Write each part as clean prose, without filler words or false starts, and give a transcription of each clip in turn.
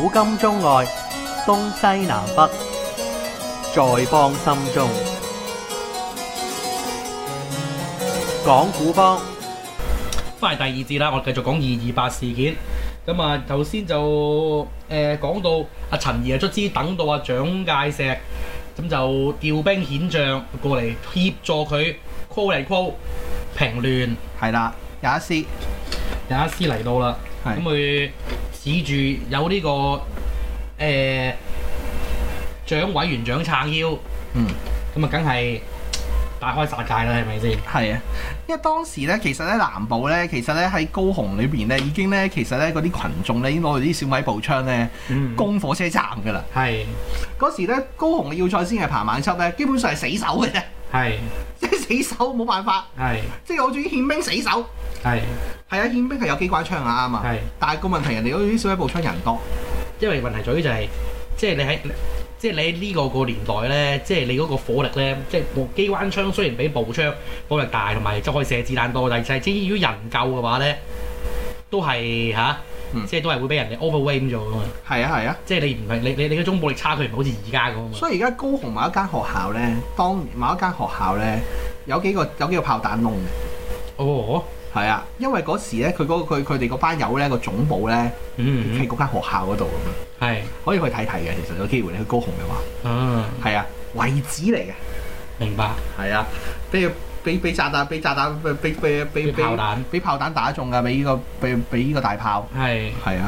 古今中外，東西南北，在邦心中。講古邦， 翻嚟第二節啦，我哋繼續講228事件。咁啊，頭先就講到阿陳儀啊，卒之等到阿蔣介石，咁就調兵遣將過嚟協助佢 call 嚟 call 平亂。 係啦，有一師嚟到啦，咁佢指住有呢個蔣委員長撐腰，咁啊梗係大開殺戒啦，係咪先？ 係啊，因為當時咧，其實咧南部咧，其實咧喺高雄裏邊咧，已經咧，其實咧嗰啲群眾咧已經攞住啲小米步槍咧攻火車站㗎啦。係嗰時咧，高雄嘅要塞先係彭孟緝咧，基本上係死守嘅啫。係即係死守，冇辦法。係即係好似啲憲兵死守。係啊，憲兵係有機關槍啊，啱啊。係，但係個問題人哋嗰啲小米步槍人多， 因為問題在於就係即係你喺呢個年代咧，即係你嗰個火力咧，即係部機關槍雖然比步槍火力大，同埋即係可以射子彈多，但係即係如果人夠嘅話咧，都係即係都係會俾人哋 overwhelm 咗㗎嘛。係啊，即係你唔係你嗰種武力差距唔係好似而家咁啊嘛。所以而家高雄某一間學校咧，某一間學校咧有幾個炮彈窿嘅。哦。係啊，因為嗰時咧，佢哋嗰班友咧個總部咧，喺嗰間學校嗰度咁樣，係可以去睇睇嘅。其實有機會你去高雄嘅話，係啊，遺址嚟嘅。明白。係啊，俾炸彈，俾炮彈打中㗎，俾呢個大炮。係啊，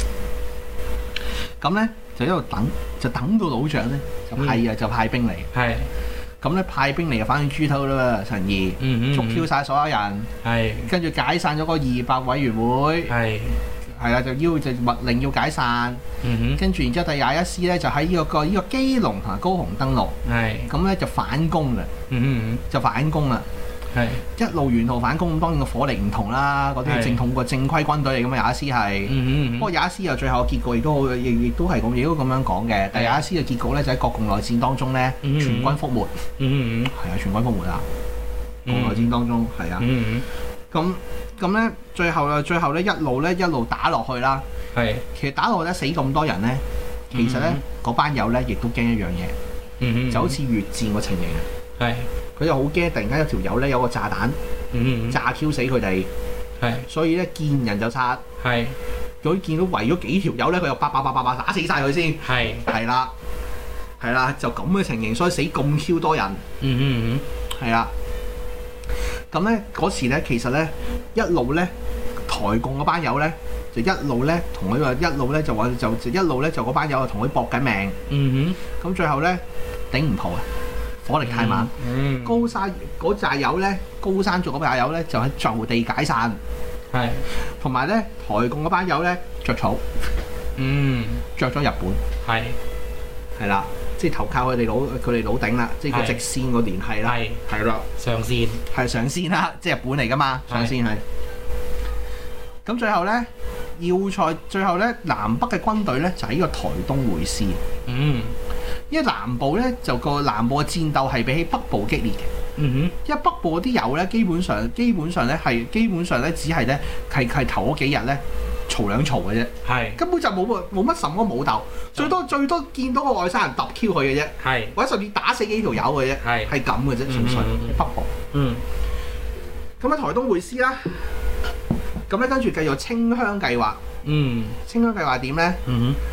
咁咧就一路等，就等到老蔣咧就派兵嚟。係。咁咧派兵嚟就反轉豬頭啦喎，陳儀捉 Q 曬所有人，跟住解散咗個228委員會，係啦，就密令要解散，跟住然之後第21師咧就喺呢個基隆同埋高雄登陸，咁咧就反攻啦，就反攻啦，一路沿途反攻，咁當然個火力唔同啦，嗰啲係正統個正規軍隊嚟㗎嘛，21師係，不過21師又最後嘅結局亦都係咁樣講嘅，第21師嘅結局咧就喺國共內戰當中咧全軍覆沒，係啊，全軍覆沒啊，國內戰當中係啊，咁咧最後咧一路打落去啦，其實打落去咧死咁多人咧，其實咧嗰班友咧亦都驚一樣嘢，就好似越戰個情形啊，佢就好驚，突然間有條友咧有個炸彈，炸 Q 死佢哋，所以咧見人就殺，佢見到圍咗幾條友咧，佢又叭打死晒佢先，係啦，就咁嘅情形，所以死咁 Q 多人，係啦，咁咧嗰時咧其實咧一路咧台共嗰班友咧就一路咧同佢話一路咧就一路咧就嗰班友就同佢搏緊命，咁最後咧頂唔破啊！火力太猛，高山嗰扎友咧，高山族嗰扎友咧就喺就地解散，同埋咧台共嗰班友咧着草，着咗日本，係啦，即係投靠佢哋老頂啦，即係個直線個聯繫啦，係啦，上線啦，即係日本嚟噶嘛，上線係。咁最後咧最後咧南北嘅軍隊咧就喺呢個台東會師。因為南部咧就個南部嘅戰鬥係比起北部激烈嘅，因為北部嗰啲友咧基本上咧只係咧係頭嗰幾日咧嘈兩嘈嘅啫，根本就冇乜什麼武鬥，最多見到個外省人揼 Q 佢嘅啫，或者甚至打死幾條友嘅啫，係咁嘅啫，純粹北部。咁喺台東會師啦，咁咧跟住繼續清鄉計劃。清鄉計劃點咧？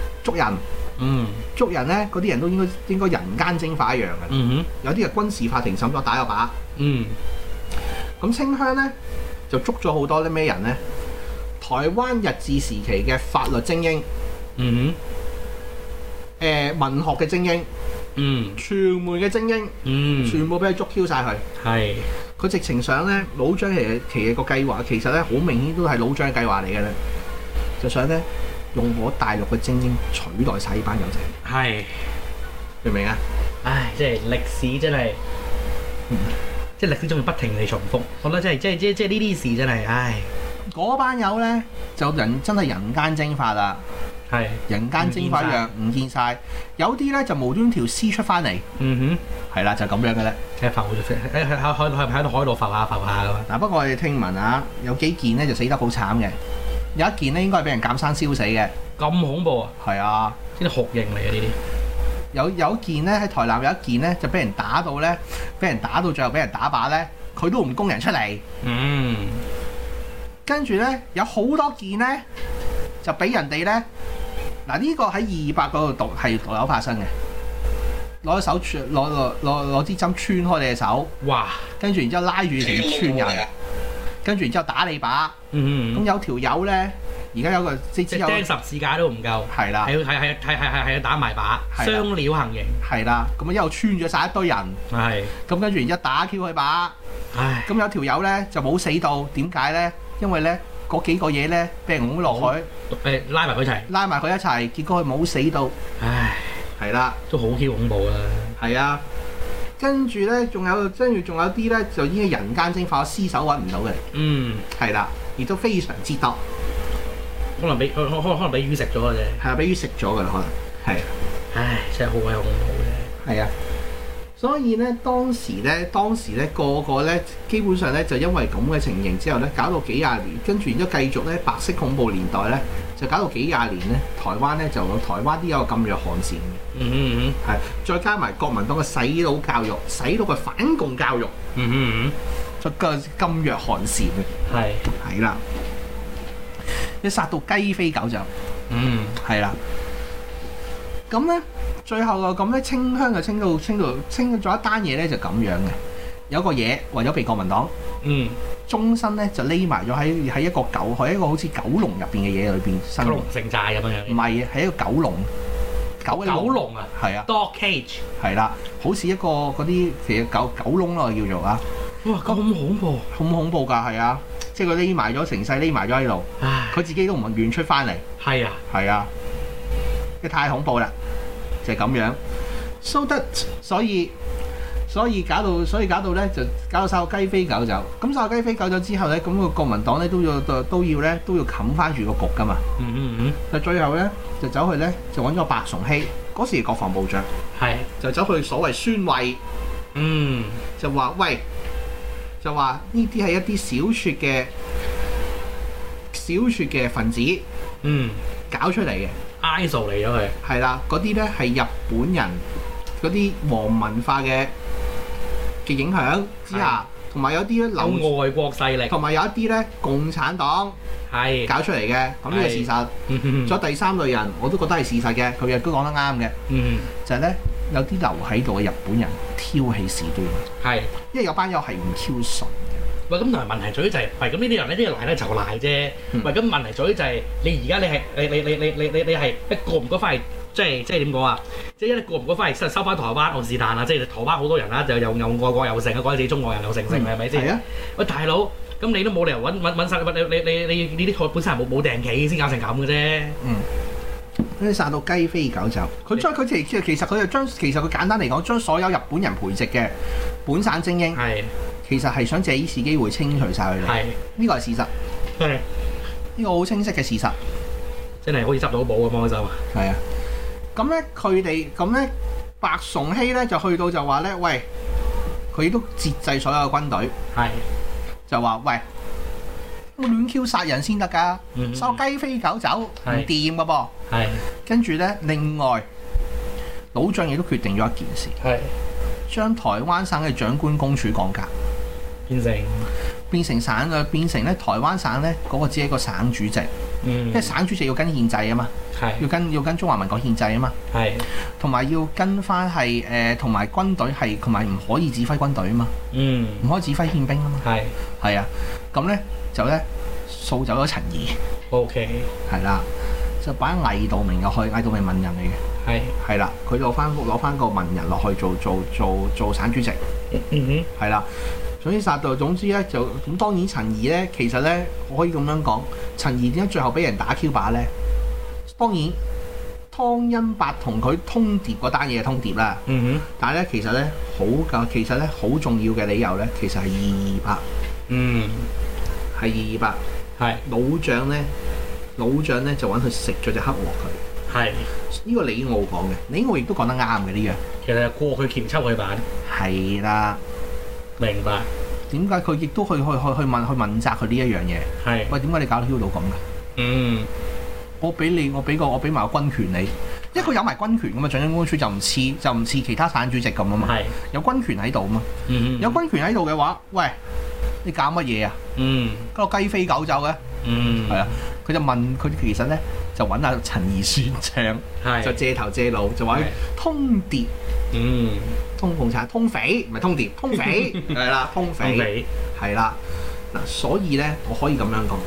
捉人咧，嗰啲人都應該人間蒸發一樣嘅。有啲係軍事法庭審咗打個靶。咁清鄉咧就捉咗好多啲咩人咧？台灣日治時期嘅法律精英，文學嘅精英，傳媒嘅精英，全部俾佢捉 Q 晒佢。佢直情想咧，老蔣其實個計劃其實咧好明顯都係老蔣嘅計劃嚟嘅咧，就想咧。用我大陸嘅精英取代晒呢班友仔，明唔明啊？唉，即係歷史真係，即係歷史仲要不停地重複。我覺得即係呢啲事真係，唉，嗰班友咧就真係人間蒸發啦，人間蒸發一樣唔見晒。有啲咧就無端條屍出翻嚟，係啦，就咁樣嘅咧，喺浮喺度浮下㗎嘛。嗱，不過我哋聽聞啊，有幾件咧就死得好慘嘅。 有一件咧應該係俾人鑑生燒死嘅。 咁恐怖啊！ 係啊， 呢啲酷刑嚟嘅呢啲。 有一件咧喺台南有一件咧就俾人打到咧，俾人打到最後俾人打靶咧，佢都唔供人出嚟。跟住咧有好多件咧就俾人哋咧，嗱呢個喺200嗰度係獨有發生嘅。攞手攞支針穿開你嘅手，哇！跟住然之後拉住成村人，跟住然之後打你靶。咁有條友咧，而家有個即係釘十字架都唔夠，係啦，係要打埋靶，雙料行刑， 係啦。咁啊一路穿咗晒一堆人，係。咁跟住然之後打 Q 佢靶，唉。咁有條友咧就冇死到，點解咧？因為咧嗰幾個嘢咧俾人㧬落海，拉埋佢一齊，結果佢冇死到，唉。係啦， 都好 Q 恐怖啦。 係啊，跟住咧，仲有啲咧，就已經人間蒸發，屍首揾唔到嘅。係啦，亦都非常之多。 可能俾魚食咗嘅啫。 係啊，俾魚食咗㗎啦，可能係。 唉，真係好鬼恐怖嘅。 係啊，所以咧，當時咧，個個咧，基本上咧，就因為咁嘅情形之後咧，搞到幾廿年，跟住然之後繼續咧，白色恐怖年代咧。就搞到幾廿年咧，台灣咧就台灣都有禁藥寒蟬嘅，係再加埋國民黨嘅洗腦教育，洗腦嘅反共教育，就個禁藥寒蟬嘅，係啦，一殺到雞飛狗走，係啦，咁咧最後就咁咧清鄉就清咗一單嘢咧就咁樣嘅，有個嘢為咗避國民黨，終身咧就匿埋咗喺一個係一個好似狗籠入邊嘅嘢裏邊生活。狗籠城寨咁樣。唔係啊，係一個狗籠。狗籠啊。係啊。Dog cage。係啦，好似一個嗰啲其實狗籠咯叫做啊。哇！咁恐怖。好恐怖㗎，係啊，即係佢匿埋咗成世匿埋咗喺度，佢自己都唔願出翻嚟。係啊。係啊。即係太恐怖啦，就係咁樣。所以搞到咧就搞到晒個雞飛狗走，咁晒個雞飛狗走之後咧，咁個國民黨咧都要冚翻住個局噶嘛。就最後咧就走去咧就揾咗白崇禧，嗰時係國防部長，就走去所謂宣慰，就話喂，就話呢啲係一啲小撮嘅分子，搞出嚟嘅 ，ISO 嚟咗佢， 係啦，嗰啲咧係日本人嗰啲皇文化嘅影響之下，同埋有啲咧流外國勢力， 同埋有一啲咧共產黨搞出嚟嘅，咁呢個事實。仲有第三類人，我都覺得係事實嘅，佢亦都講得啱嘅。就係咧有啲留喺度嘅日本人挑起事端，因為有班友係唔挑順嘅。 喂，咁同埋問題在於就係，喂，咁呢啲人呢啲賴咧就賴啫。喂，咁問題在於就係你而家你係一過唔過翻嚟？即係點講啊？即係一過唔過翻嚟收翻台灣，我是但啊！即係台灣好多人啦，就又外國又成啊，講自己中國人又成係咪先？係啊！喂，大佬，咁你都冇理由揾晒你啲台本身係冇訂期先搞成咁嘅啫。 你殺到雞飛狗走，佢其實佢簡單嚟講，將所有日本人培植嘅本省精英，其實係想借呢次機會清除晒佢哋。呢個係事實。呢個好清晰嘅事實。 真係好似執到寶咁樣就係啊！咁咧，白崇禧咧就去到就話咧，喂，佢都節制所有嘅軍隊，就話喂，我亂 Q 殺人先得㗎，收雞飛狗走唔掂㗎噃。跟住咧，另外老蔣亦都決定咗一件事，將台灣省嘅長官公署降格，變成省嘅，變成咧台灣省咧嗰個只係一個省主席。因為省主席要跟憲制啊嘛，要跟中華民國憲制啊嘛，同埋要跟翻係同埋軍隊係同埋唔可以指揮軍隊啊嘛，唔可以指揮憲兵啊嘛，係啊，咁咧就咧掃走咗陳儀，OK，係啦，就擺魏道明入去，魏道明文人嚟嘅，係啦，佢攞翻個文人落去做省主席，係啦。總之殺到，總之咧就咁。當然陳儀咧，其實咧我可以咁樣講，陳儀點解最後俾人打 Q 靶咧？當然湯恩伯同佢通牒嗰單嘢係通牒啦。但係咧其實咧好重要嘅理由咧，其實係228。係228。係老蔣咧就揾佢食咗隻黑鑊佢。呢個李敖講嘅，李敖亦都講得啱嘅呢樣。 其實係過去鉗抽佢版。係啦。 明白。點解佢亦都去問責佢呢一樣嘢？喂，點解你搞到 Q 到咁㗎？ 我俾埋個軍權你，因為佢有埋軍權噶嘛，長英公署就唔似其他省主席咁啊嘛，有軍權喺度啊嘛，有軍權喺度嘅話，喂，你搞乜嘢啊？嗰個雞飛狗走嘅，係啊，佢就問佢其實咧就揾阿陳儀算賬，就借頭借路就話通牒，通共產通匪唔係通牒，通匪係啦，通匪係啦，嗱，所以咧我可以咁樣講。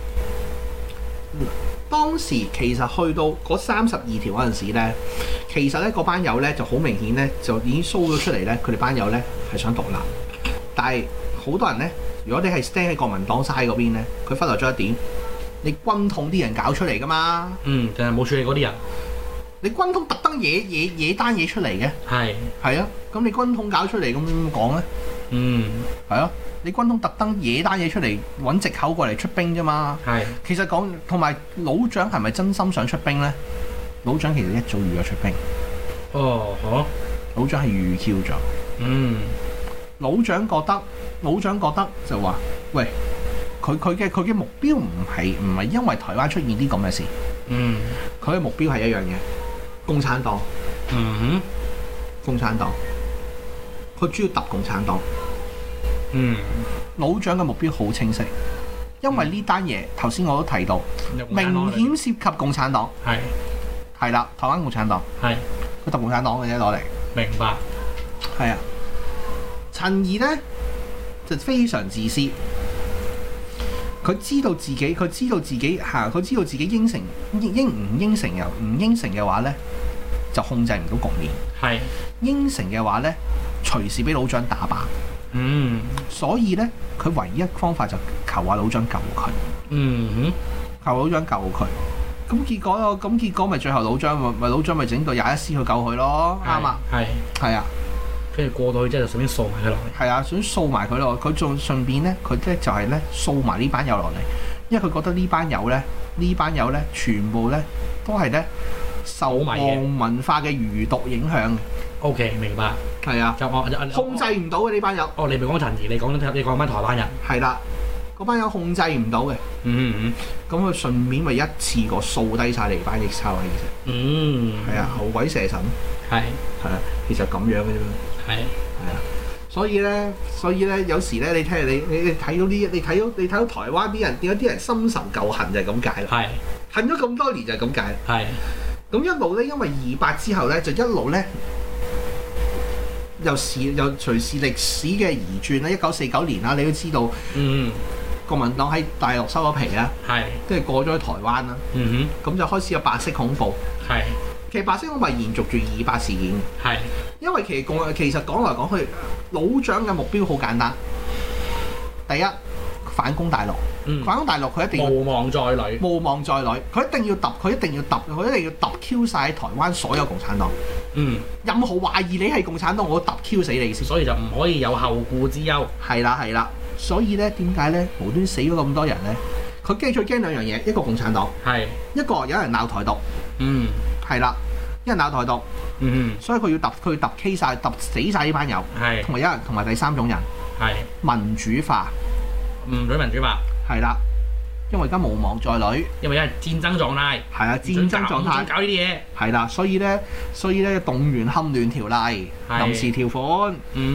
當時其實去到嗰32條嗰陣時咧，其實咧嗰班友咧就好明顯咧就已經 show 咗出嚟咧，佢哋班友咧係想獨立，但係好多人咧，如果你係 stand 喺國民黨 side 嗰邊咧，佢忽略咗一點，你軍統啲人搞出嚟噶嘛， 就係冇處理嗰啲人， 你軍統特登嘢單嘢出嚟嘅，係啊，咁你軍統搞出嚟咁點講咧？係啊。你軍統特登野單嘢出嚟揾藉口過嚟出兵啫嘛，其實講同埋老蔣係咪真心想出兵咧？老蔣其實一早預咗出兵。老蔣係預 Q 咗。老蔣覺得就話：喂，佢嘅目標唔係因為台灣出現啲咁嘅事。佢嘅目標係一樣嘢，共產黨。共產黨。佢主要揼共產黨。老蔣嘅目標好清晰，因為呢單嘢頭先我都提到，明顯涉及共產黨，係啦，台灣共產黨，佢揼共產黨嘅啫攞嚟， 明白， 係啊。陳儀呢，就非常自私，佢知道自己應承唔應承嘅話呢，就控制唔到局面，應承嘅話呢，隨時俾老蔣打靶。所以咧，佢唯一方法就求下老蔣救佢。求老蔣救佢。咁結果咪最後老蔣咪整到21師去救佢咯，啱啊。係啊。 跟住過到去之後就順便掃埋佢落嚟。係啊， 想掃埋佢落，佢仲順便咧，佢咧就係咧掃埋呢班友落嚟，因為佢覺得呢班友咧，全部咧都係咧受皇文化嘅餘毒影響。 OK， 明白。係啊， 控制唔到嘅呢班友。 你咪講陳儀，你講翻台灣人。 係啦，嗰班友控制唔到嘅。咁佢順便咪一次過掃低晒你班逆臭啊！其實。係啊，後鬼射神。係啊，其實咁樣嘅啫嘛。係啊，所以咧，有時咧，你睇到台灣啲人點解啲人深仇舊恨就係咁解啦。恨咗咁多年就係咁解。咁一路咧，因為28之後咧，就一路咧。又隨時歷史嘅移轉啦，1949年啦，你都知道，國民黨喺大陸收咗皮啦，跟住過咗去台灣啦，咁就開始有白色恐怖。其實白色恐怖係延續住28事件嘅，因為其實講來講去，老蔣嘅目標好簡單，第一反攻大陸。反攻大陸佢一定要無望在裏，佢一定要揼 Q 晒台灣所有共產黨。任何懷疑你係共產黨，我都揼 Q 死你先。所以就唔可以有後顧之憂。係啦，所以咧點解咧無端死咗咁多人咧？佢最驚兩樣嘢，一個共產黨，一個有人鬧台獨。係啦，有人鬧台獨。所以佢要揼 K 晒，揼死晒呢班友。同埋第三種人民主化。民主化。係啦，因為而家無望在裏，因為而家係戰爭狀態，係啊，戰爭狀態搞呢啲嘢，係啦，所以咧動員戡亂條例、臨時條款，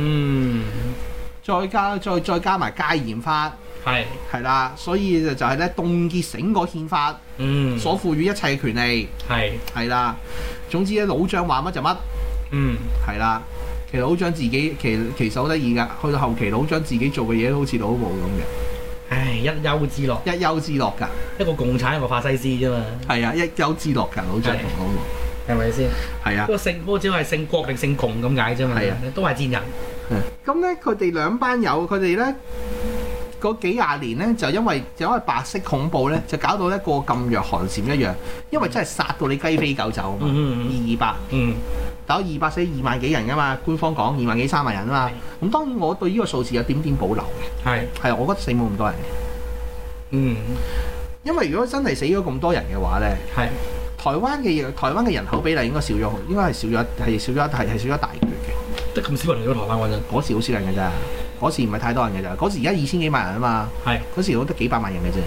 再加埋戒嚴法，係啦，所以就係咧凍結整個憲法，所賦予一切權利，係啦，總之咧老蔣話乜就乜，係啦，其實老蔣自己其實好得意㗎，去到後期老蔣自己做嘅嘢都好似老毛咁嘅。唉，一丘之樂㗎，一個共產一個法西斯啫嘛。係啊，一丘之樂㗎，老蔣同老毛，係咪先？係啊。嗰個只係姓郭定姓共咁解啫嘛。係啊，都係賤人。咁咧，佢哋兩班友，佢哋咧嗰幾廿年咧，就因為白色恐怖咧，就搞到一個噤若寒蟬一樣，因為真係殺到你雞飛狗走啊嘛。200。打200死2萬幾人㗎嘛，官方講2萬幾3萬人啊嘛。咁當然我對呢個數字有點保留嘅。係，我覺得死冇咁多人嘅。因為如果真係死咗咁多人嘅話咧，台灣嘅人口比例應該少咗，應該係少咗一大橛嘅。得咁少人嚟咗台灣嗰陣？嗰時好少人㗎咋，嗰時唔係太多人㗎咋。嗰時而家2000幾萬人啊嘛。嗰時我得幾百萬人嘅啫。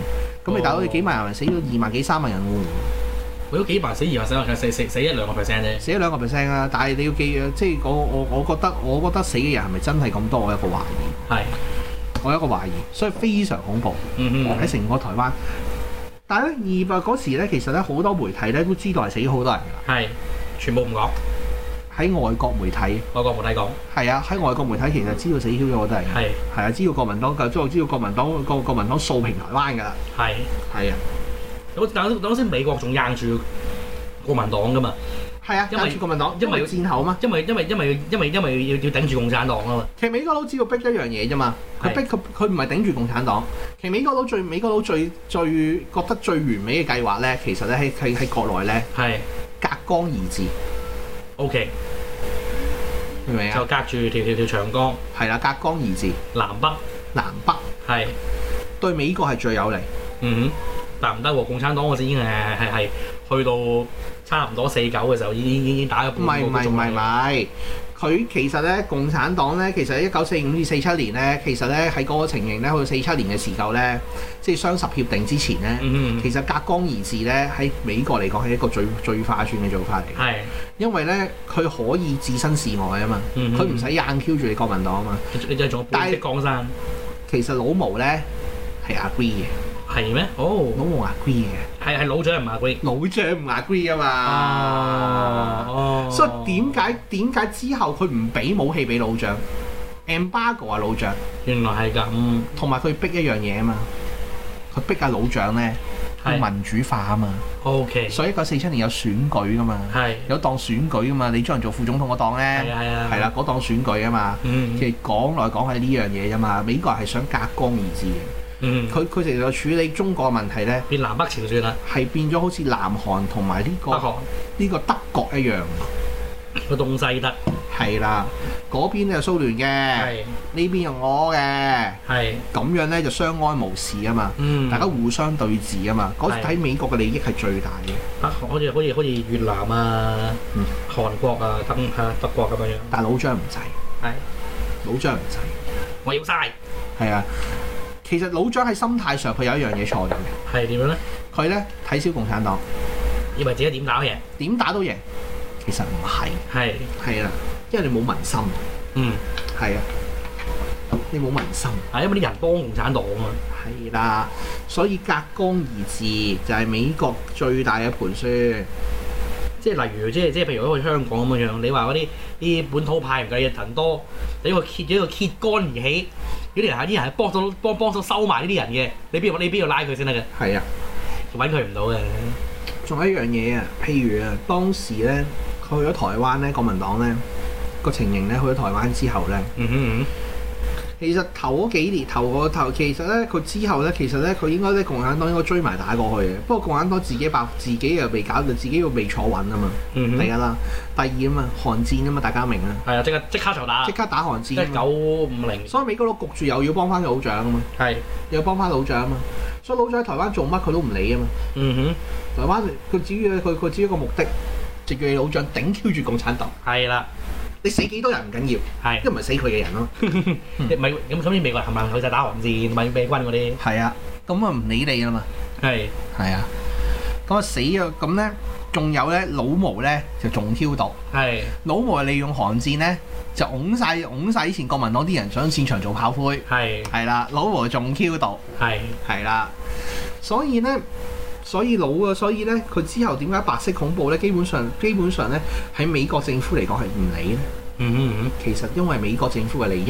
咁你大佬你幾萬人死咗2萬幾3萬人喎， 為咗幾萬死2萬死1-2%啫， 死咗2%啊！但係你要記啊，即係我覺得死嘅人係咪真係咁多？我有個懷疑。係。我有一個懷疑，所以非常恐怖。喺成個台灣。但係咧，200嗰時咧，其實咧好多媒體咧都知道係死咗好多人㗎。係，全部唔講。喺外國媒體講。係啊，喺外國媒體其實知道死咗好多人。係啊，知道國民黨知道國民黨掃平台灣㗎啦。係啊。 等先，美國仲硬住國民黨㗎嘛？ 係啊，硬住國民黨，因為要戰後嘛。因為要頂住共產黨啊嘛。 其實美國佬只要逼一樣嘢啫嘛，佢唔係頂住共產黨。其實美國佬最覺得最完美嘅計劃咧，其實咧喺國內咧係隔江而治。O.K. 明唔明啊？就隔住條長江。係啦，隔江而治。南北係對美國係最有利。但唔得喎，共產黨嗰時已經係去到差唔多49嘅時候，已經打咗半個鐘。唔係，佢其實咧，共產黨咧，其實1945至47年咧，其實咧喺嗰個情形咧，去到47年嘅時候咧，即係雙十協定之前咧，其實隔江而治咧喺美國嚟講係一個最划算嘅做法嚟。係，因為咧佢可以置身事外啊嘛，佢唔使硬 Q 住你國民黨啊嘛。你就係仲有半壁江山。其實老毛咧係 agree 嘅。係咩？哦，老毛 agree 嘅，係老蔣唔 agree，老蔣唔 agree 啊嘛。所以點解之後佢唔俾武器俾老蔣 ？embargo 啊，老蔣。原來係咁。同埋佢逼一樣嘢啊嘛，佢逼阿老蔣咧要民主化啊嘛。OK。所以1947年有選舉噶嘛，有當選舉噶嘛，你將人做副總統嗰檔咧，係啦，嗰檔選舉啊嘛。其實講來講去呢樣嘢啫嘛，美國人係想隔江而治嘅。佢成日處理中國嘅問題咧，變南北朝算啦，係變咗好似南韓同埋呢個德國一樣，個東西德係啦，嗰邊就蘇聯嘅，呢邊又我嘅，係咁樣咧就相安無事啊嘛，大家互相對峙啊嘛，嗰時睇美國嘅利益係最大嘅，好似越南啊、韓國啊、德國咁樣樣，但係老蔣唔制，係老蔣唔制，我要晒，係啊。其實老蔣喺心態上佢有一樣嘢錯咗嘅，係點樣咧？佢咧睇小共產黨，以為自己點打都贏，點打都贏。其實唔係，係啦，因為你冇民心。係啊，你冇民心。係因為啲人幫共產黨啊嘛。係啦，所以隔江而治就係美國最大嘅盤算。即係例如，即係譬如好似香港咁樣，你話嗰啲本土派唔計人多，你個揭竿而起。啲人係幫手收埋呢啲人嘅，你邊度拉佢先得嘅？係啊，揾佢唔到嘅。仲有一樣嘢啊，譬如啊，當時咧佢去咗台灣咧，國民黨咧個情形咧，去咗台灣之後咧，其實頭嗰幾年其實咧佢之後咧，其實咧佢應該咧共產黨應該追埋打過去嘅。不過共產黨自己又未搞到，自己又未坐穩啊嘛。第一啦，第二啊嘛，韓戰啊嘛，大家明啊。係啊，即刻就打，即刻打韓戰。1950。所以美國佬焗住又要幫翻老蔣啊嘛。係。又要幫翻老蔣啊嘛。所以老蔣喺台灣做乜佢都唔理啊嘛。台灣佢只要一個目的，就叫你老蔣頂 Q 住共產黨。係啦。你死幾多人唔緊要，係，因為唔係死佢嘅人咯。咁所以美國人係咪去晒打韓戰、咪美軍嗰啲？係啊，咁啊唔理你啦嘛。係啊，咁啊死啊！咁咧，仲有咧老毛咧就仲挑逗。係。老毛係利用韓戰咧就擁晒以前國民黨啲人上戰場做炮灰。係啦，老毛仲挑逗。係啦，所以咧。所以咧，佢之後點解白色恐怖咧？基本上咧，喺美國政府嚟講係唔理咧。其實因為美國政府嘅利益，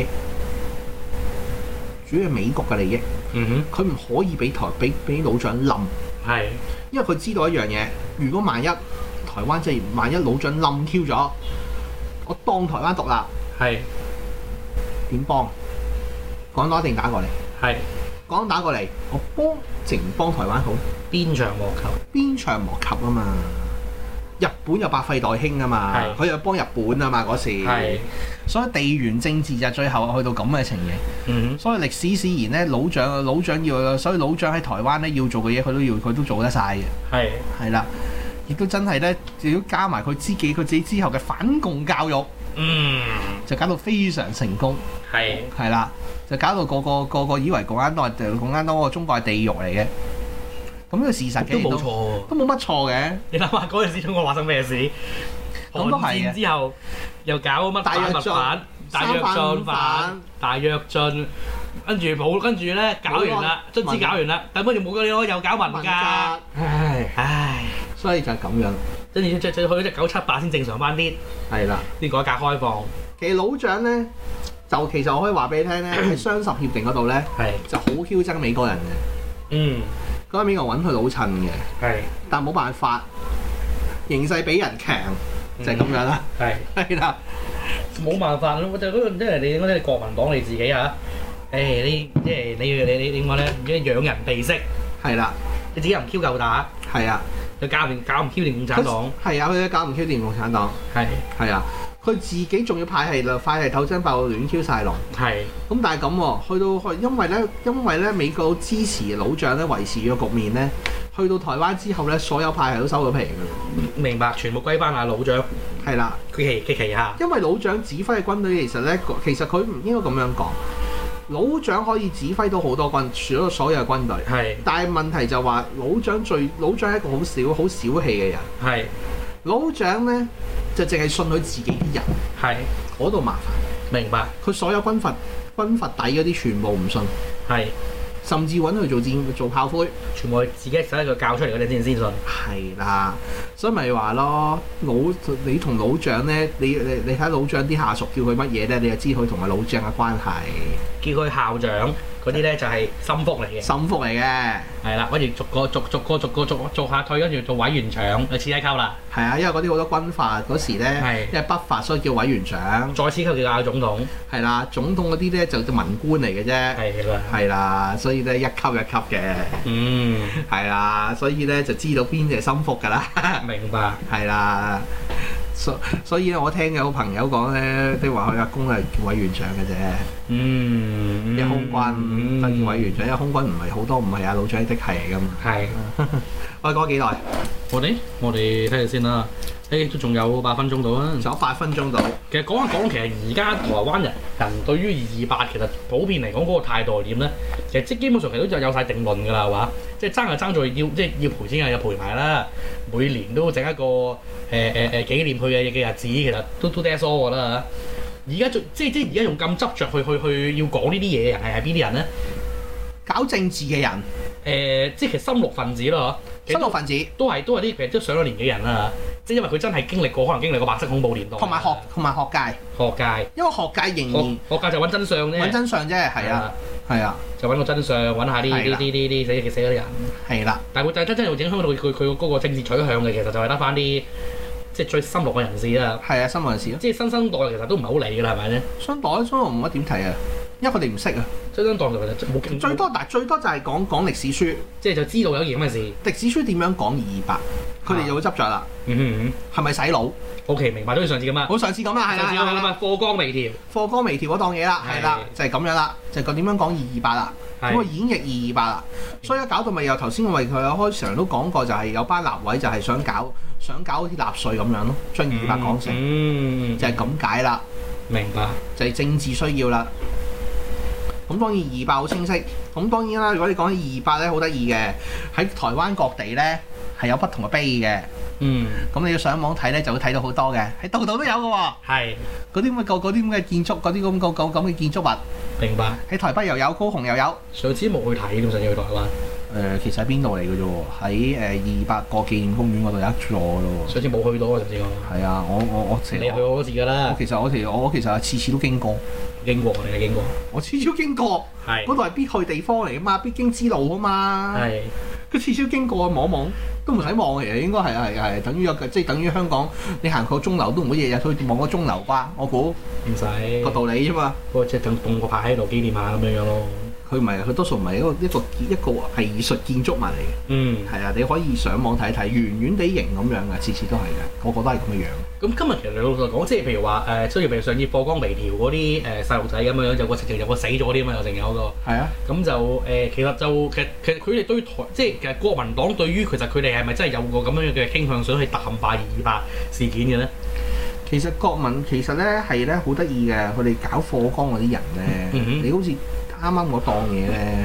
主要係美國嘅利益。佢唔可以俾老蔣冧。係。因為佢知道一樣嘢，如果萬一台灣萬一老蔣冧 Q 咗，我當台灣獨立。係。點幫？廣東一定打過嚟。係。廣東打過嚟，我淨幫台灣好。鞭長莫及啊嘛！日本又百廢待興啊嘛，佢又幫日本啊嘛嗰時，所以地緣政治就最後去到咁嘅情形。所以歷史使然咧，老蔣要，所以老蔣喺台灣咧要做嘅嘢，佢都做得晒嘅。係啦，亦都真係咧，如果加埋佢自己之後嘅反共教育，就搞到非常成功。係啦，就搞到個個以為共產黨個中國係地獄嚟嘅。 咁呢個事實嘅都冇錯喎， 都冇乜錯嘅。 你諗下嗰陣時中國發生咩事？ 咁都係韓戰之後又搞乜大躍進、 大躍進，跟住咧搞完啦，卒之搞完啦，但跟住冇幾耐又搞文革，唉， 所以就係咁樣。 跟住去咗隻978先正常翻啲， 係啦， 啲改革開放。 其實老蔣咧，就其實我可以話俾你聽咧，喺雙十協定嗰度咧，就好囂憎美國人嘅。嗰陣美國揾佢老襯嘅，但冇辦法，形勢比人強，就係咁樣啦。係啦， 冇辦法咯，就嗰個即係你嗰啲國民黨你自己啊，你即係你點講咧？唔知養人鼻息，係啦，你自己又唔 Q 夠打，係啊，佢搞唔 Q 掂共產黨，係啊，佢搞唔 Q 掂共產黨，係啊。佢自己仲要派系鬥爭爆到亂 Q 晒龍，咁但係咁喎，因為咧美國支持老蔣咧維持個局面咧，去到台灣之後咧，所有派系都收咗皮㗎啦。明白，全部歸翻阿老蔣，係啦，佢旗下。因為老蔣指揮嘅軍隊其實佢唔應該咁樣講，老蔣可以指揮到好多所有嘅軍隊，但係問題就話老蔣係一個好小氣嘅人，老蔣咧。就淨係信佢自己啲人，嗰度麻煩。明白。佢所有軍閥底嗰啲全部唔信，甚至揾佢做炮灰，全部係自己手一個教出嚟嗰啲先信。係啦，所以咪話咯，你同老蔣咧，你睇老蔣啲下屬叫佢乜嘢咧，你就知佢同阿老蔣嘅關係。叫佢校長嗰啲咧就係心腹嚟嘅。心腹嚟嘅。係啦，跟住逐下退，跟住做委員長，就次一級啦。係啊，因為嗰啲好多軍閥嗰時咧，因為北伐，所以叫委員長。再次級叫總統。係啦，總統嗰啲咧就文官嚟嘅啫。係啦，所以咧一級一級嘅。係啦，所以咧就知道邊隻係心腹㗎啦。明白。係啦。所以咧，我聽有朋友講咧，都話佢阿公係叫委員長嘅啫。啲空軍都叫委員長，因為空軍唔係好多，唔係阿老蔣的係嚟噶嘛。係。我哋講幾耐？我哋睇下先啦。都仲有8分鐘到啊！仲有8分鐘到。其實講一講，其實而家台灣人對於228其實普遍嚟講嗰個態度係點咧？其實即基本上其實都有晒定論㗎啦，係嘛？即係爭就爭在要賠錢又賠埋啦。每年都整一個紀念佢嘅日子，其實都 that's all 㗎啦。而家而家用咁執着去要講呢啲嘢嘅人係邊啲人咧？搞政治嘅人，即係其實深綠分子咯，深綠分子都係啲其實都上咗年紀人啦。即係因為佢真係經歷過，可能經歷過白色恐怖年代，同埋學界，因為學界仍然學界就揾真相啫，揾真相啫，係啊，就揾個真相，揾下啲死嗰啲人，係啦。但係佢真係影響到佢嗰個政治取向嘅，其實就係得翻啲即係最深綠嘅人士啦。係啊，深綠人士咯，即係新生代其實都唔係好理㗎啦，係咪咧？新生代唔乜點睇啊？因為佢哋唔識啊，新生代其實冇經最多就係講歷史書，即係就知道有件咁嘅事。歷史書點樣講228？佢哋就會執着啦。係咪洗腦 ？OK， 明白。都好似上次咁啊。好上次咁啊，係啦。上次咁啊，課綱微調嗰檔嘢啦，係啦，就係咁樣啦，就係講點樣講228啦。咁啊演繹228啦，所以搞到咪又頭先我為佢開場都講過，就係有班立委就係想搞好似納粹咁樣咯，將228講成，就係咁解啦。明白。就係政治需要啦。咁當然228好清晰，咁當然啦。如果你講起228咧，好得意嘅，喺台灣各地咧係有不同嘅碑嘅。咁你要上網睇咧，就會睇到好多嘅，喺度都有嘅喎。係嗰啲咁嘅建築，嗰啲咁嘅建築物。明白。喺台北又有，高雄又有。上次冇去睇，咁上次去台灣。其實喺邊度嚟嘅啫喎？喺228個紀念公園嗰度有一座咯。上次冇去到啊，上次我。係啊，我你去過好多次㗎啦。我其實係次次都經過。我哋係經過。我次次都經過。係。嗰度係必去地方嚟㗎嘛，必經之路啊嘛。係。佢次次都經過望望，都唔使望嘅，應該係等於等於香港你行過鐘樓都唔會日日去望個鐘樓啩？我估。唔使。個道理啫嘛。不過即係等棟個牌喺度紀念下咁樣咯。佢唔係，佢多數唔係一個藝術建築物嚟嘅。係啊，你可以上網睇睇，圓圓地形咁樣嘅，次次都係嘅，個個都係咁嘅樣。咁今日其實你老實講，即係譬如話雖然譬如上次課綱微調嗰啲細路仔咁樣，有個死咗啲咁啊，有成有個。係啊。咁就其實佢哋對台，即係其實國民黨對於其實佢哋係咪真係有個咁樣嘅傾向，想去淡化228事件嘅咧？其實國民其實咧係咧好得意嘅，佢哋搞課綱嗰啲人咧，你好似。啱啱嗰檔嘢咧，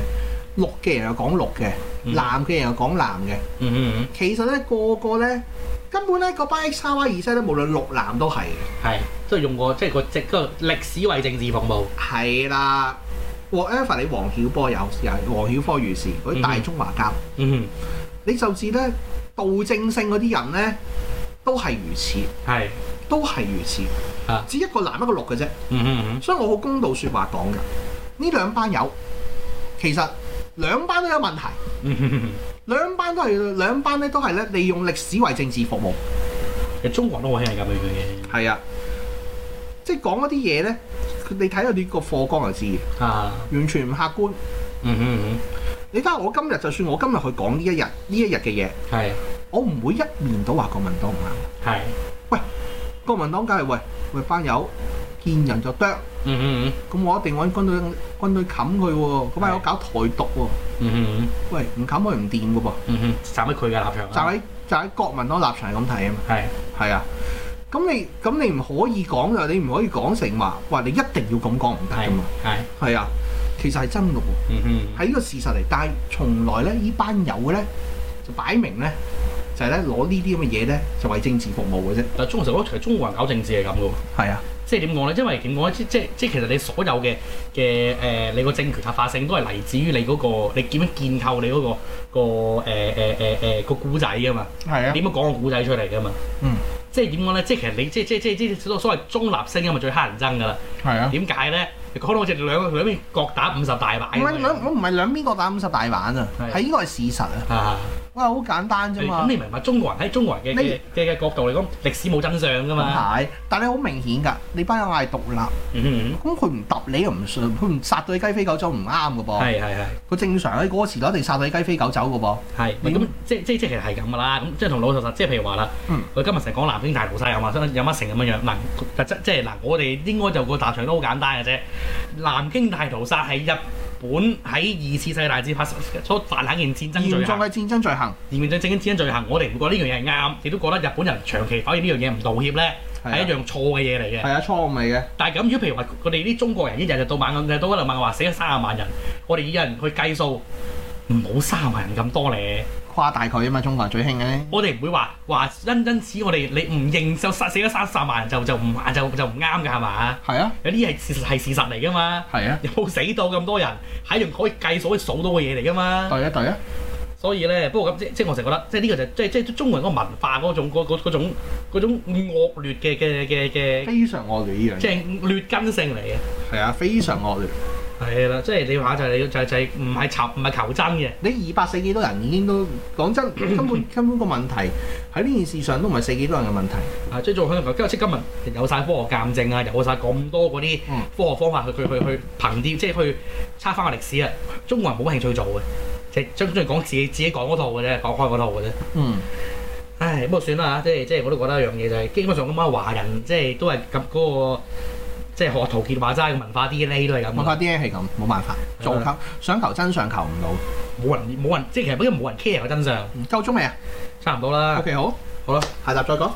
綠嘅人又講綠嘅，藍嘅人又講藍嘅。其實咧個個咧根本咧嗰班 XYZ 咧，無論綠藍都係嘅。 係，即係用過即係個歷史為政治服務。係啦 ，whatever 你黃曉波有黃曉科如是嗰啲大中華膠。你就至咧道正性嗰啲人咧，都係如此。係，都係如此。只一個藍一個綠嘅啫。所以我好公道説話講㗎，呢兩班友其實兩班都有問題。兩班咧都係咧利用歷史為政治服務。 其實中國人都好興係咁樣嘅。係啊， 即係講一啲嘢咧，你睇下呢個課綱就知嘅。完全唔客觀。你睇下我今日，就算我今日去講呢一日嘅嘢，我唔會一面倒話國民黨唔啱。喂，國民黨梗係喂班友見人就啄。咁我一定揾軍隊冚佢喎，嗰班友搞台獨喎。喂，唔冚佢唔掂嘅噃。 站喺佢嘅立場。 就喺國民黨立場係咁睇啊嘛。係啊。咁你唔可以講㗎，你唔可以講成話你一定要咁講唔得㗎嘛。係啊，其實係真嘅喎。係呢個事實嚟，但係從來咧呢班友咧就擺明咧就係咧攞呢啲咁嘅嘢咧就為政治服務嘅啫。但係中國其實中國人搞政治係咁嘅喎。係啊。即係點講咧？因為點講咧？即係其實你所有嘅你個政權合法性都係嚟自於你嗰個你點樣建構你嗰個故仔㗎嘛。係啊。點樣講個故仔出嚟㗎嘛？即係點講咧？即係其實你即係所謂中立聲音咪最乞人憎㗎啦。係啊。點解咧？講到好似兩邊各打50大板。我唔係兩邊各打50大板啊！係呢個係事實啊！哇，好簡單啫嘛！ 咁你明白中國人喺中國人嘅角度嚟講，歷史冇真相㗎嘛？ 係，但係好明顯㗎，你班友嗌獨立，咁佢唔揼你又唔信，佢唔殺到你雞飛狗走唔啱㗎噃。係。佢正常喺嗰個時代一定殺到你雞飛狗走㗎噃。係。咁即其實係咁㗎啦。咁即係同老實，即係譬如話啦，我今日成日講南京大屠殺有乜成咁樣樣嗱，即係嗱，我哋應該就個立場都好簡單嘅啫。南京大屠殺係日本喺2次世界大戰所犯下件戰爭罪行，嚴重嘅戰爭罪行，嚴重嘅戰爭罪行，我哋唔覺得呢樣嘢係啱，亦都覺得日本人長期否認呢樣嘢唔道歉咧，係一樣錯嘅嘢嚟嘅。係啊，錯誤嚟嘅。但係咁，如果譬如話，我哋啲中國人一日到晚咁，到嗰度問話死咗30萬人，我哋有人去計數，唔好30萬人咁多咧。誇大佢啊嘛，中國人最興嘅。我哋唔會話因此我哋你唔認就死咗30萬人就唔啱㗎係嘛？係啊，有啲係事實嚟㗎嘛。係啊，有冇死到咁多人係用可以計數可以數到嘅嘢嚟㗎嘛？對啊。所以咧，不過咁即我成日覺得，即係呢個就即中國人嗰個文化嗰種惡劣嘅非常惡劣呢樣，即係劣根性嚟嘅。係啊，非常惡劣。係啦，即係你話就係唔係求真嘅。你200死幾多人已經都講真，根本個問題喺呢件事上都唔係死幾多人嘅問題。啊，即係做香港，今日有晒科學鑑證啊，有晒咁多嗰啲科學方法去憑啲，即係去測翻個歷史啊。中國人冇興趣做嘅，即係中意講自己講嗰套嘅啫，講開嗰套嘅啫。唉，不過算啦嚇，即係我都覺得一樣嘢就係基本上咁樣華人即係都係咁嗰個。即係學陶傑話齋嘅文化 DNA 都係咁，文化 DNA 係咁，冇辦法，想求真相求唔到，冇人，即係其實因為冇人 care 個真相。夠鐘未啊？差唔多啦。OK，好啦，下集再講。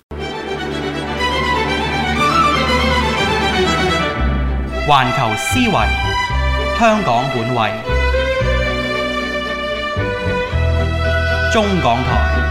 環球思維，香港本位，中港台。